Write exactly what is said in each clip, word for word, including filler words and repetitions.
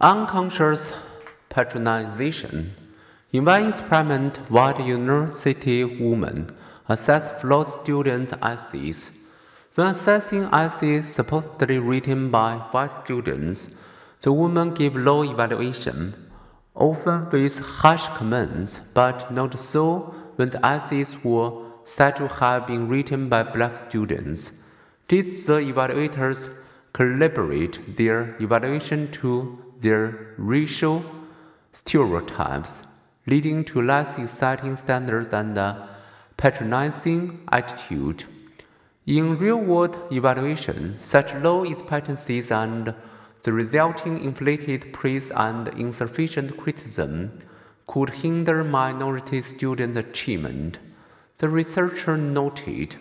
Unconscious patronization. In one experiment, white university women assessed flawed student essays. When assessing essays supposedly written by white students, the women gave low evaluation, often with harsh comments, but not so when the essays were said to have been written by black students. Did the evaluators calibrate their evaluation to their racial stereotypes, leading to less exciting standards and a patronizing attitude? In real-world evaluation, such low expectancies and the resulting inflated praise and insufficient criticism could hinder minority student achievement. The researcher noted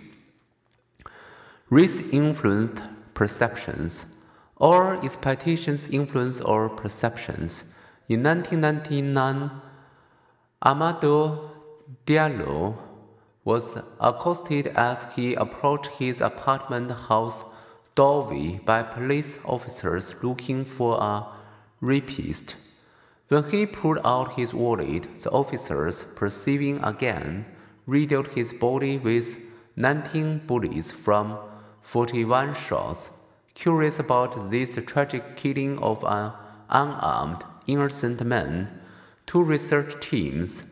race influenced perceptions. All expectations influence our perceptions. In nineteen ninety-nine, Amadou Diallo was accosted as he approached his apartment house doorway by police officers looking for a rapist. When he pulled out his wallet, the officers, perceiving again, riddled his body with nineteen bullets from forty-one shots. Curious about this tragic killing of an unarmed, innocent man, two research teams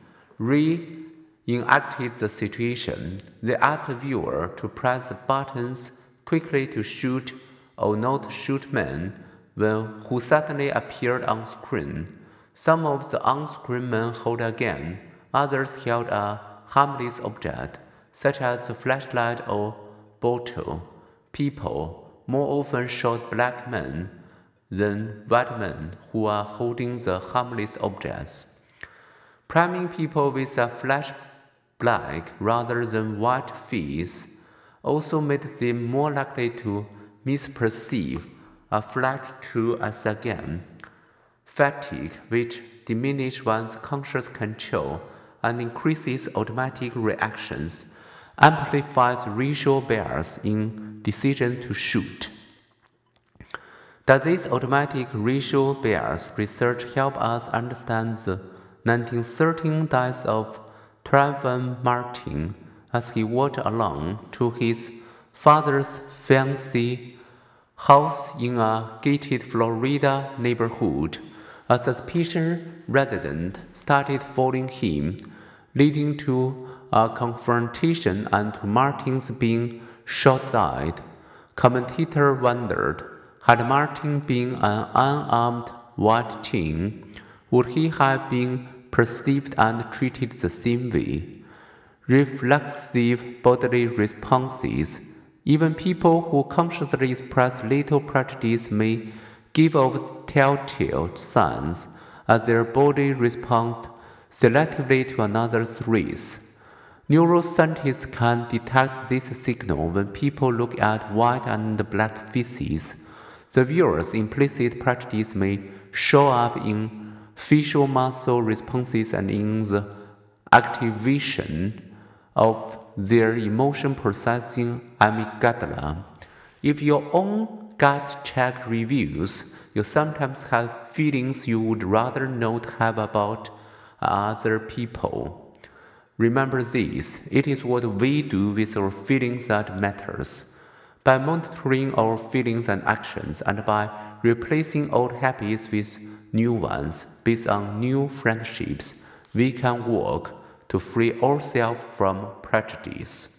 reenacted the situation. They asked the viewer to press the buttons quickly to shoot or not shoot men when who suddenly appeared on screen. Some of the on-screen men held a gun, others held a harmless object, such as a flashlight or bottle. People more often shot black men than white men who are holding the harmless objects. Priming people with a flash black rather than white face also made them more likely to misperceive a flash tool as a gun. Fatigue, which diminishes one's conscious control and increases automatic reactions, amplifies racial bias in decision to shoot. Does this automatic racial bias research help us understand the nineteen thirteen death of Trayvon Martin as he walked along to his father's fancy house in a gated Florida neighborhood? A suspicious resident started following him, leading to a confrontation and to Martin's being shot dead. Commentator wondered, had Martin been an unarmed white teen, would he have been perceived and treated the same way? Reflexive bodily responses. Even people who consciously express little prejudice may give off telltale signs as their body responds selectively to another's race. Neuroscientists can detect this signal when people look at white and black faces. The viewer's implicit prejudice may show up in facial muscle responses and in the activation of their emotion processing amygdala. If your own gut check reveals you sometimes have feelings you would rather not have about other people, remember this: it is what we do with our feelings that matters. By monitoring our feelings and actions, and by replacing old habits with new ones based on new friendships, we can work to free ourselves from prejudice.